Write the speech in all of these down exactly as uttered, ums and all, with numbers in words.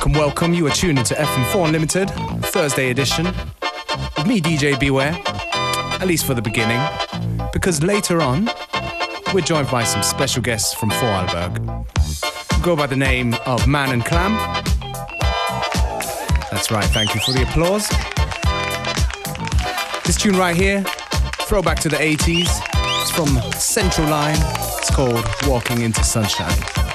welcome. You are tuned into F M four Unlimited, Thursday edition, with me, D J Beware, at least for the beginning, because later on, we're joined by some special guests from Vorarlberg, who go by the name of Man and Clam. That's right, thank you for the applause. This tune right here, throwback to the eighties, it's from Central Line, it's called Walking into Sunshine.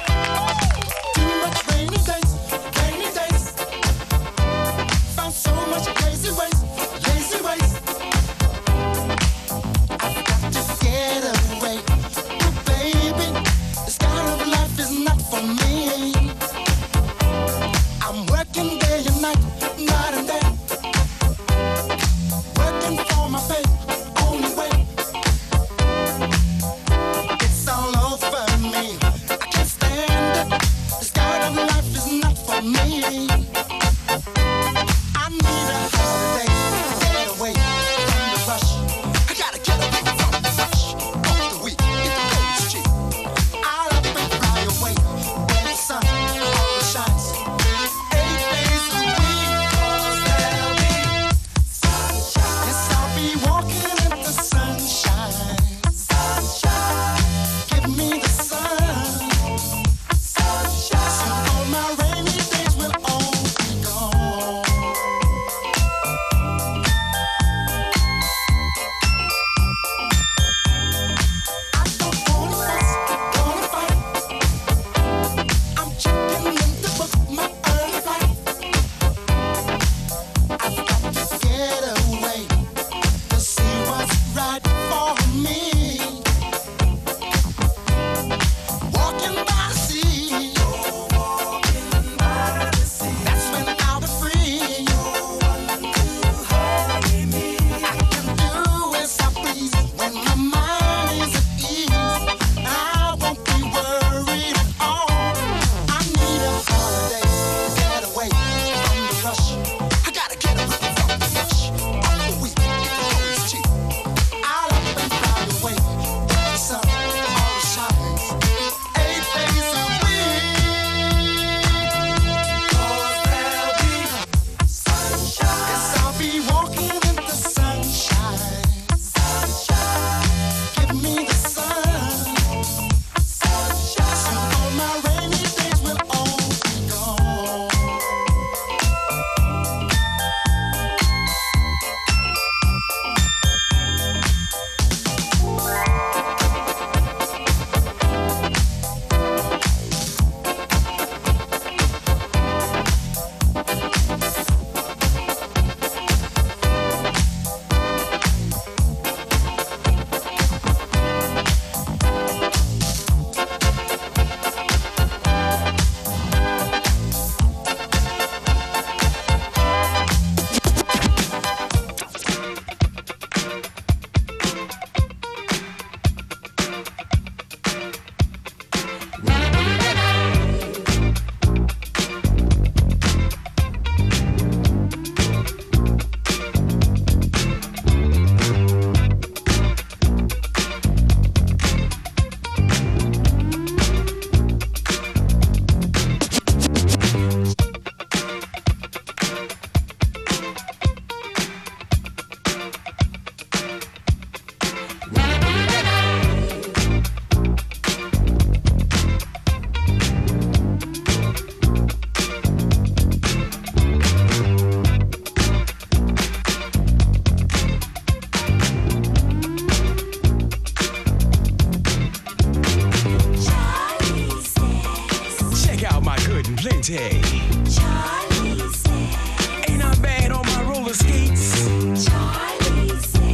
Charlie says, ain't I bad on my roller skates? Charlie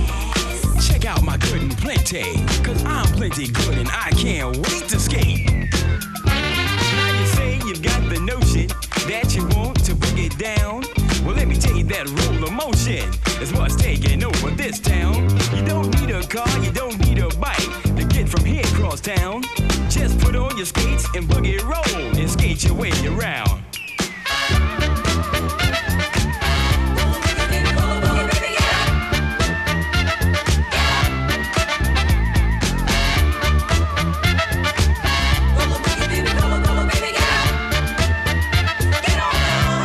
says, check out my good and plenty, cause I'm plenty good and I can't wait to skate. Now you say you've got the notion that you want to bring it down. Well, let me tell you that roller motion is what's taking over this town. You don't need a car, you don't need a bike to get from here across town. Just put on your skates and boogie roll and skate your way around. Get on now.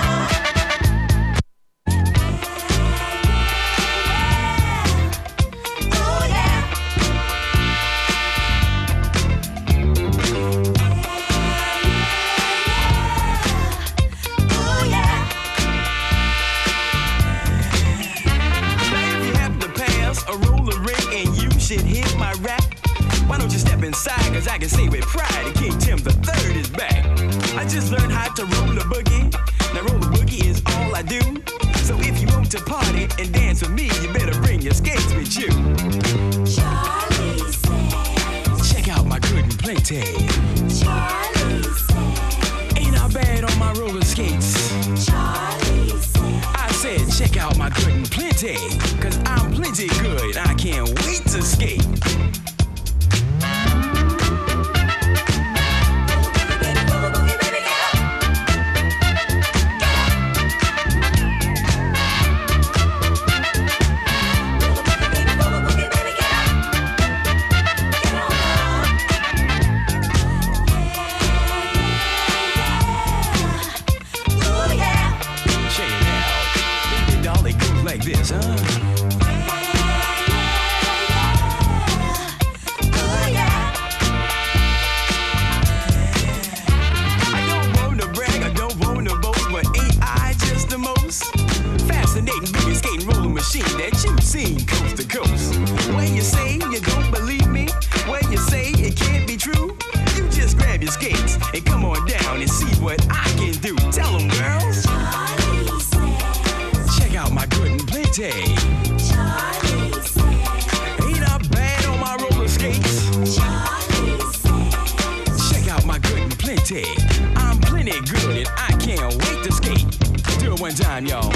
step inside, cause I can say with pride that King Tim the Third is back. I just learned how to roll a boogie. Now roll a boogie is all I do. So if you want to party and dance with me, you better bring your skates with you. Charlie says, check out my good and plenty. Charlie says, ain't I bad on my roller skates? Charlie says, I said check out my good and plenty, cause I'm plenty good, I can't wait to skate. This, huh? ooh yeah. I don't want to brag, I don't want to boast, but ain't I just the most fascinating boogie skating roller machine that you've seen coast to coast? When you say you don't believe me, when you say it can't be true, you just grab your skates and come on down and see what I can do. Tell them, girls. Charlie says, Check out my good and plenty. Charlie says, Ain't I bad on my roller skates? Charlie says, Check out my good and plenty. I'm plenty good and I can't wait to skate. Do it one time, y'all.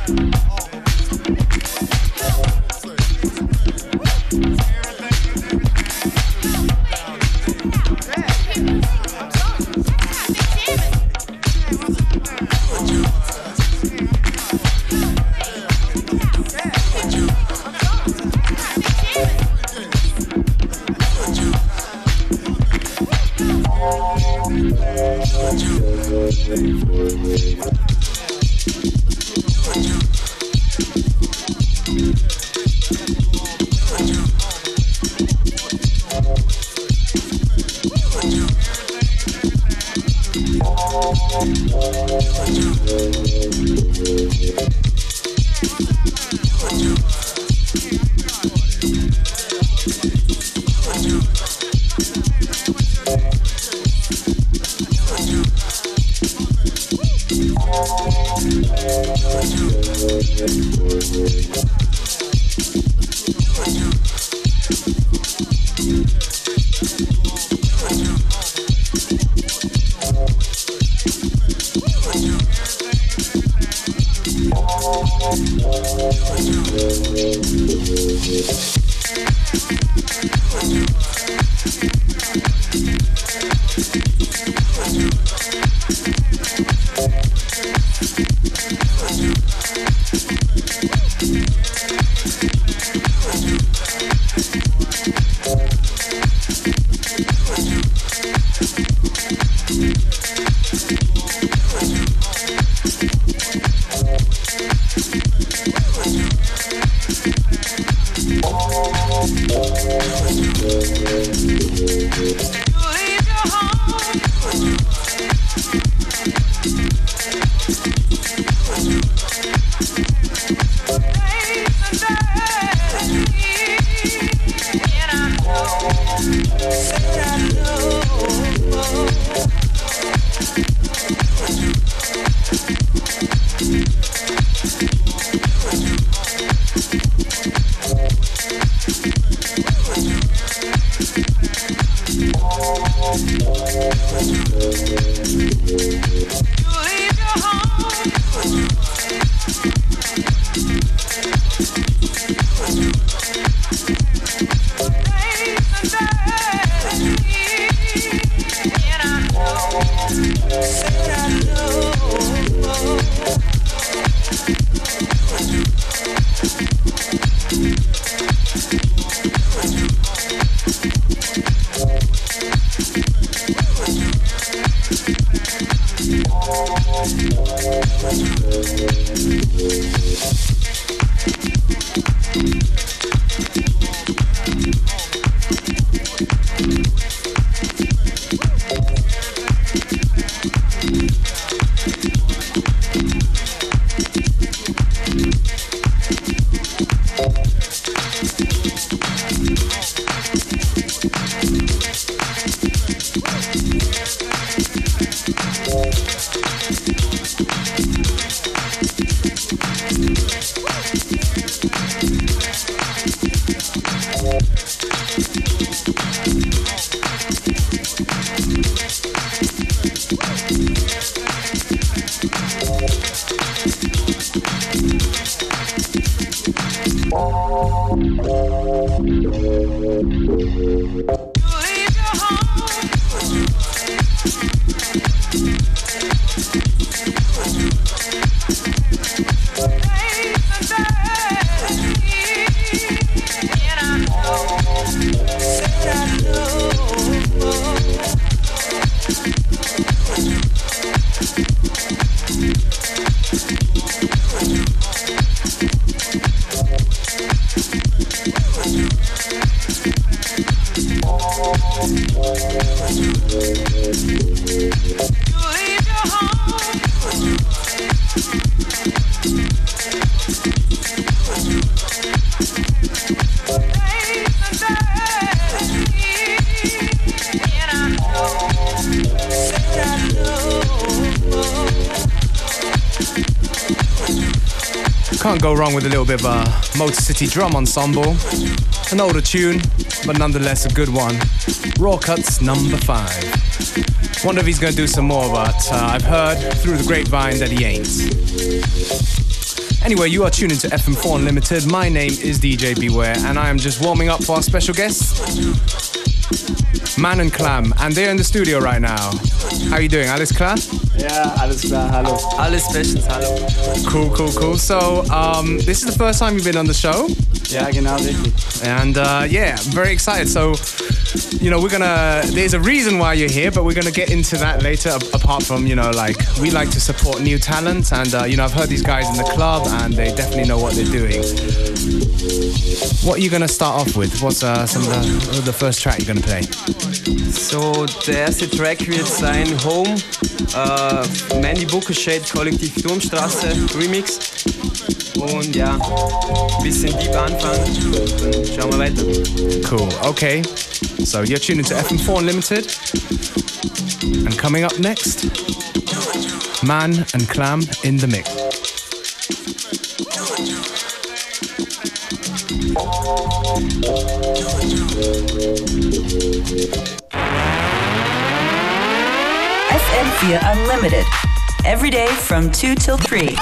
Can't go wrong with a little bit of a Motor City Drum Ensemble. An older tune, but nonetheless a good one. Raw Cuts number five. Wonder if he's gonna do some more, but uh, I've heard through the grapevine that he ain't. Anyway, you are tuned into F M four Unlimited. My name is D J Beware, and I am just warming up for our special guests, Man and Clam, and they're in the studio right now. How are you doing, Alles klar? Ja, alles klar, hallo. Alles bestens, hallo. Cool, cool, cool. So, um, this is the first time you've been on the show. Ja, genau, richtig. And uh, yeah, I'm very excited. So, you know, we're gonna, there's a reason why you're here, but we're gonna get into that later. Apart from, you know, like, we like to support new talent. And, uh, you know, I've heard these guys in the club and they definitely know what they're doing. What are you gonna start off with? What's uh, some of the, the first track you're gonna play? So, der erste Track wird sein Home, äh, Mandy Bookershade, Kollektiv Turmstraße, Remix. Und ja, ein bisschen deep anfangen, dann schauen wir weiter. Cool, okay. So you're tuned into F M four Unlimited. And coming up next, Man and Clam in the mix. F M four Unlimited. Every day from two till three.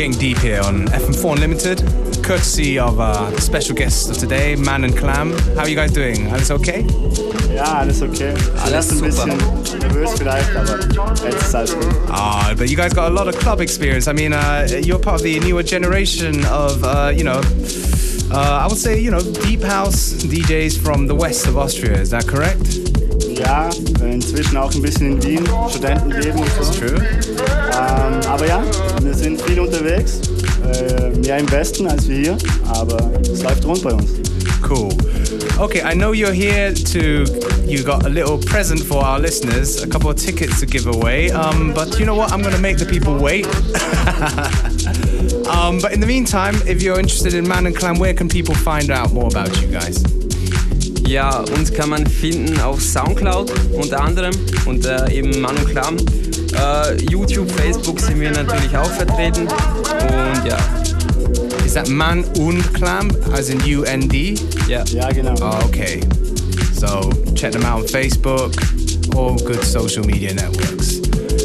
getting deep here on F M four Unlimited, courtesy of uh, the special guest of today, Man and Clam. How are you guys doing? Alles okay? Ja, alles okay. Alles Ein bisschen nervös vielleicht, aber jetzt ist alles gut. Ah, but you guys got a lot of club experience. I mean, uh, you're part of the newer generation of, uh, you know, uh, I would say, you know, deep house D Js from the west of Austria. Is that correct? Ja, inzwischen auch ein bisschen in Wien, Studentenleben und so. True. Ähm, aber ja, wir sind viel unterwegs, äh, mehr im Westen als wir hier, aber es läuft rund bei uns. Cool. Okay, I know you're here to, you got a little present for our listeners, a couple of tickets to give away, um, but you know what, I'm going to make the people wait. um, but in the meantime, if you're interested in Man and Clam, where can people find out more about you guys? Ja, uns kann man finden auf Soundcloud unter anderem und äh, eben Man und Clam. Äh, YouTube, Facebook sind wir natürlich auch vertreten und ja. Is that Man und Clam, as in U N D? Ja. Ja, genau. Oh, okay. So check them out on Facebook, all good social media networks.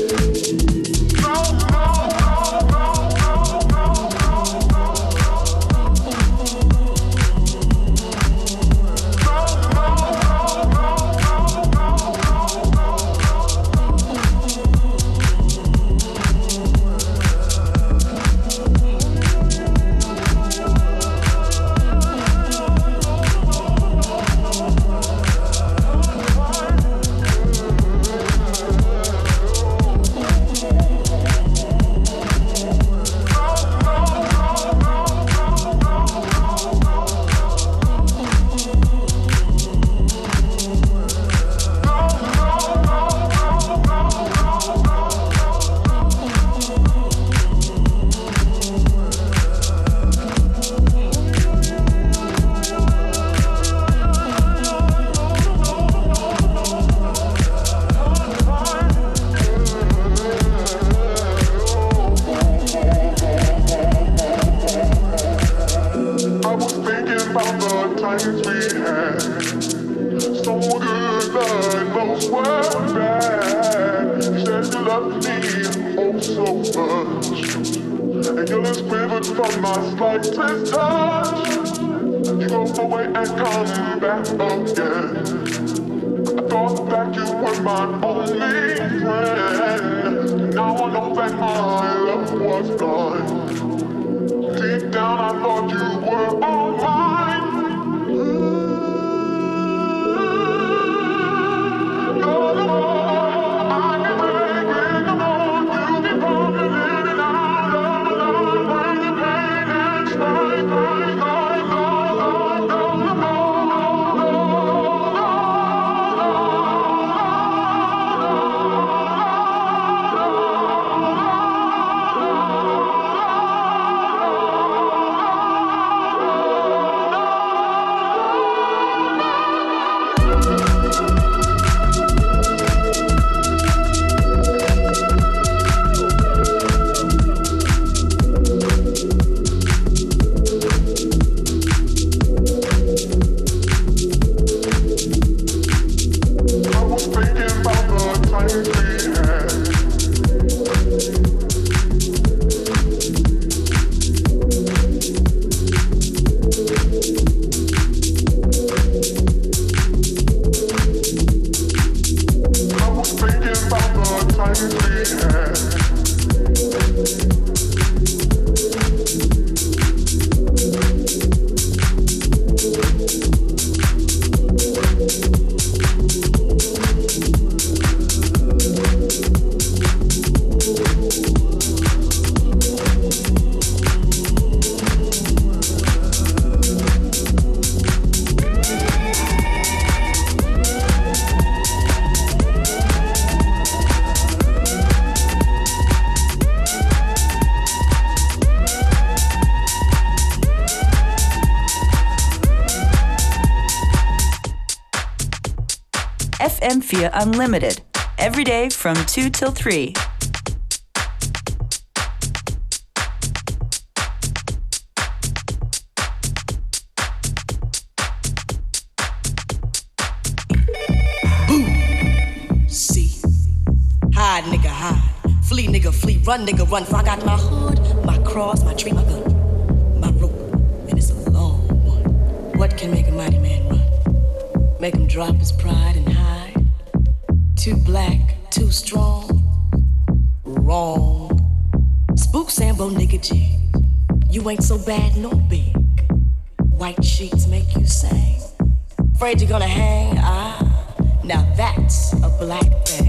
F M four Unlimited, every day from two till three. See, hide nigga hide, flee nigga flee, run nigga run, for I got my hood, my crew. cross, my tree, my gun, my rope, and it's a long one. What can make a mighty man run? Make him drop his pride and hide? Too black, too strong, wrong. Spook Sambo nigga G, you ain't so bad nor big. White sheets make you sing. Afraid you're gonna hang? Ah, now that's a black thing.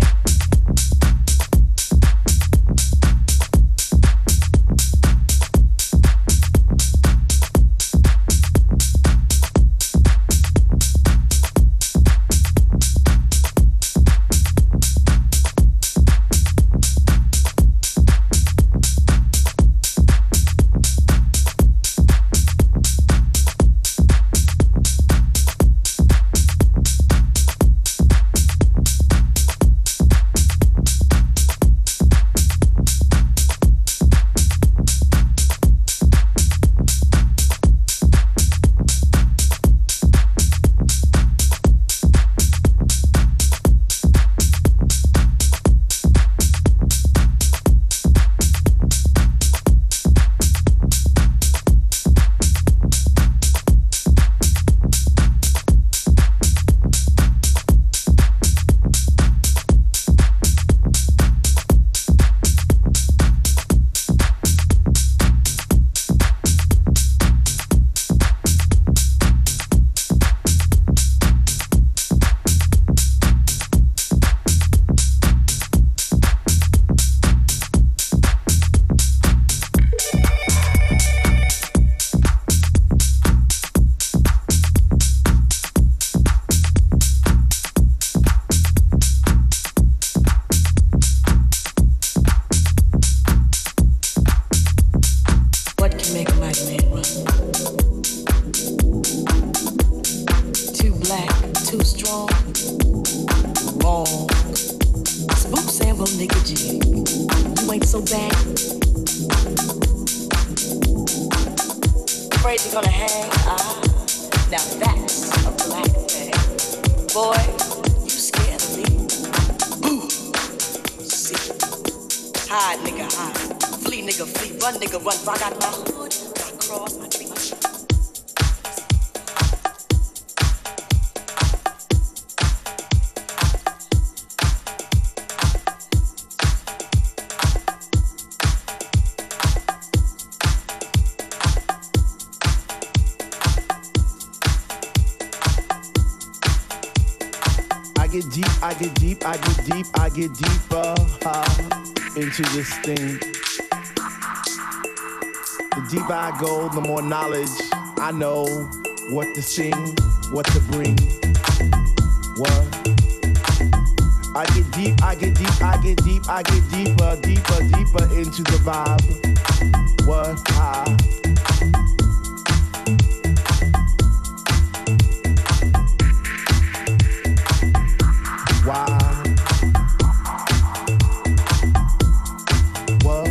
I get deep, I get deep, I get deeper uh, into this thing. The deeper I go, the more knowledge I know what to sing, what to bring. What? I get deep, I get deep, I get deep, I get deeper, deeper, deeper into the vibe. What? Ah. Why? What?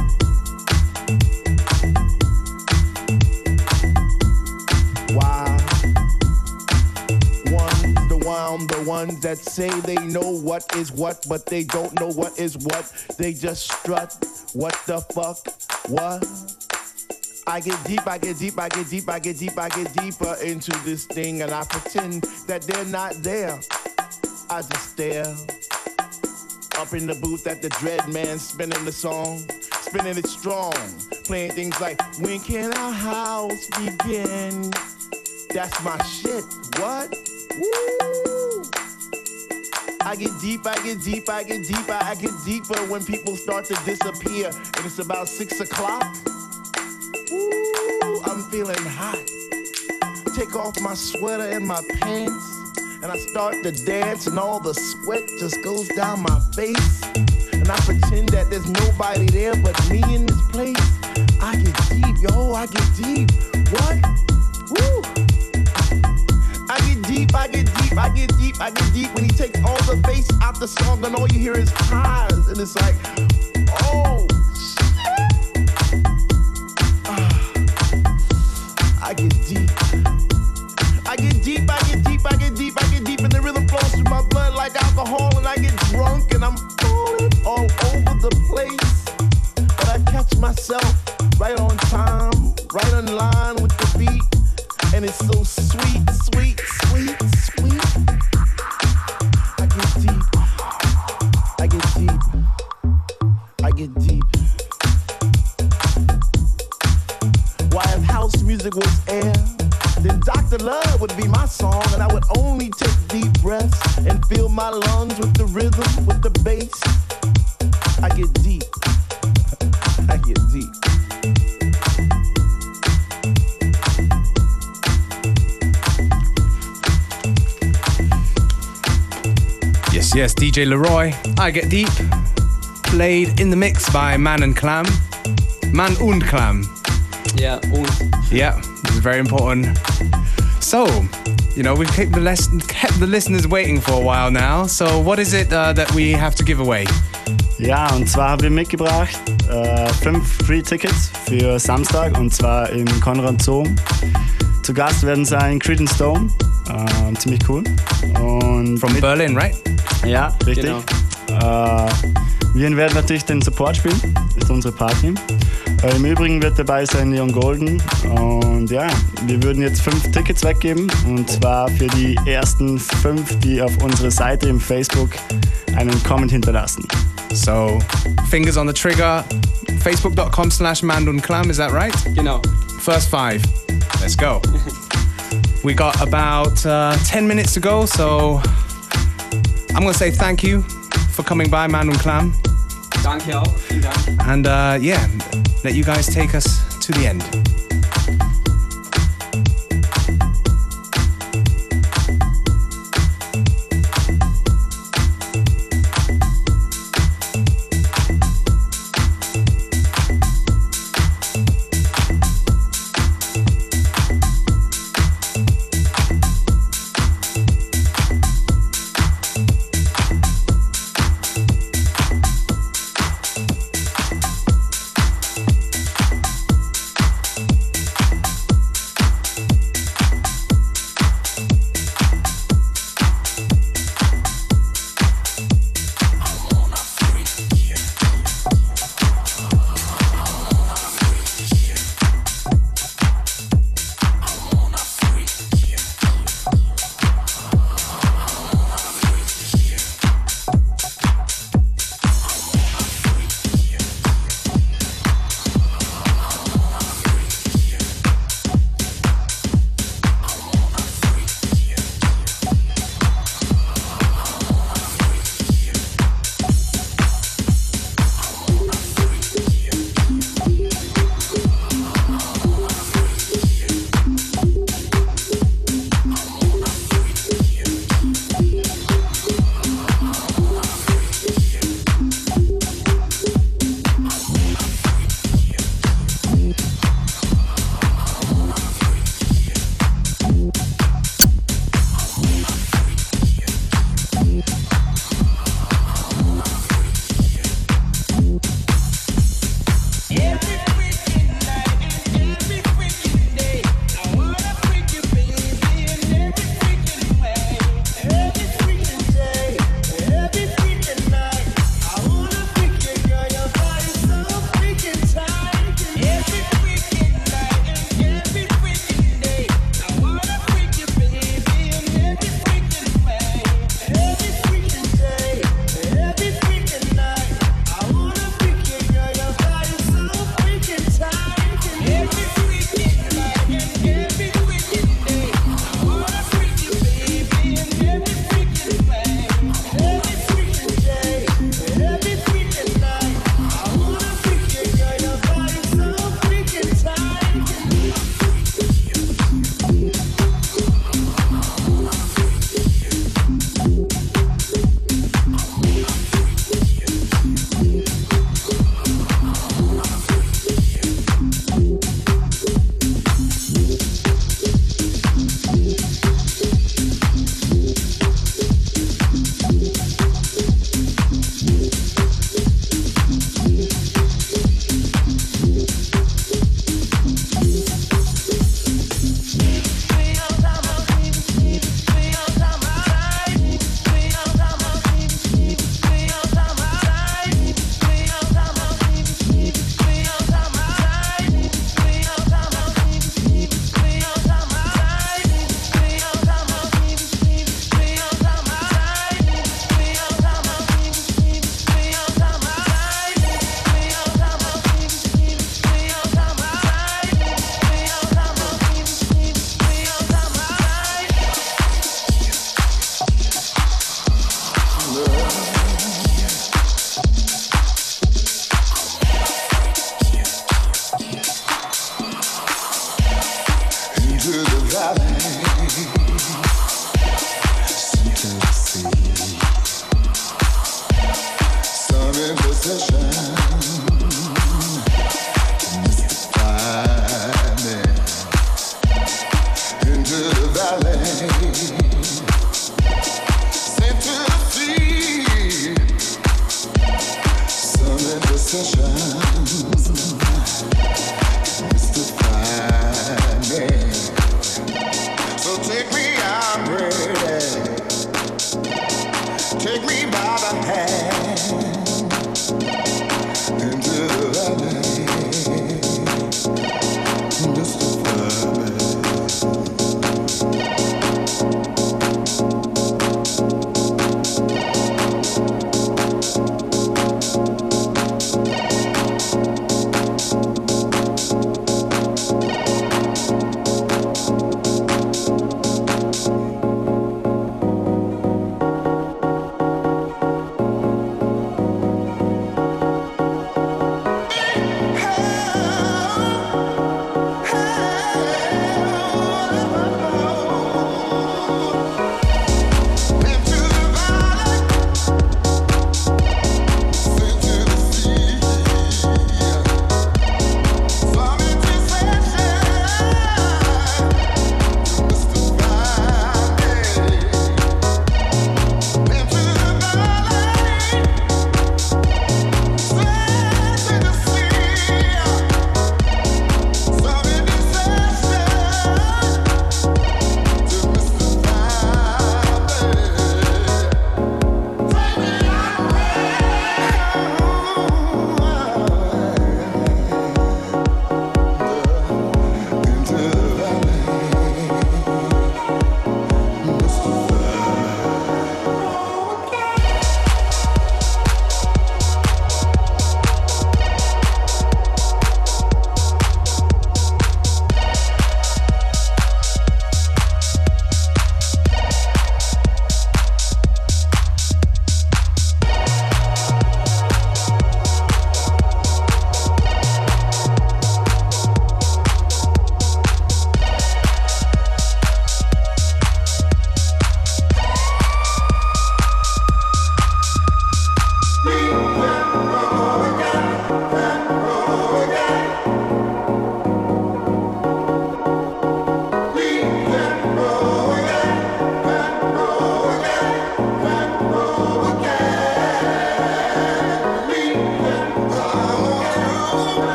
Why? One's the one, the ones that say they know what is what, but they don't know what is what. They just strut. What the fuck? What? I get deep, I get deep, I get deep, I get deep, I get deeper into this thing, and I pretend that they're not there. I just stare up in the booth at the Dread Man spinning the song, spinning it strong, playing things like, when can our house begin? That's my shit. What? Woo! I get deep, I get deep, I get deeper, I get deeper when people start to disappear, and it's about six o'clock. Woo! I'm feeling hot. Take off my sweater and my pants, and I start to dance, and all the sweat just goes down my face. And I pretend that there's nobody there but me in this place. I get deep, yo, I get deep. What? Woo! I get deep, I get deep, I get deep, I get deep when he takes all the bass out the song, and all you hear is highs, and it's like, oh, shit. Ah, I get deep. I get deep, I get deep, I get deep, I get deep, and the rhythm flows through my blood like alcohol, and I get drunk, and I'm falling all over the place. But I catch myself right on time, right on line with the beat. And it's so sweet, sweet, sweet, sweet. I get deep, I get deep, I get deep. Why, if house music was air, then Doctor Love would be my song, and I would only take deep breaths and fill my lungs with the rhythm, with the bass. I get deep, I get deep. Yes, yes, D J Leroy, I Get Deep, played in the mix by Man and Clam. Man und Clam. Yeah, und. Yeah, it's very important. So, you know, we've kept the, les- kept the listeners waiting for a while now. So, what is it uh, that we have to give away? Ja, und zwar haben wir mitgebracht äh, fünf Free Tickets für Samstag, und zwar im Konrad Zoo. Zu Gast werden sein Creedence Dome, äh, ziemlich cool. Und From mit, Berlin, right? Ja, richtig. Genau. Äh, wir werden natürlich den Support spielen, das ist unsere Party. Äh, Im Übrigen wird dabei sein Leon Golden, und ja, wir würden jetzt fünf Tickets weggeben, und zwar für die ersten fünf, die auf unserer Seite im Facebook einen Comment hinterlassen. So, fingers on the trigger, facebook.com slash mandunclam, is that right? Genau. First five, let's go. We got about uh, ten minutes to go, so I'm going to say thank you for coming by, Man und Clam. Danke auch. Vielen Dank. And uh, yeah, let you guys take us to the end.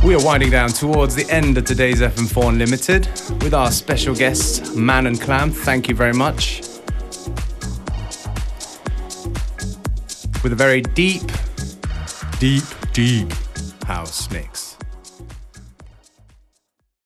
We are winding down towards the end of today's F M four Unlimited with our special guests, Man and Clam. Thank you very much. With a very deep, deep, deep house mix.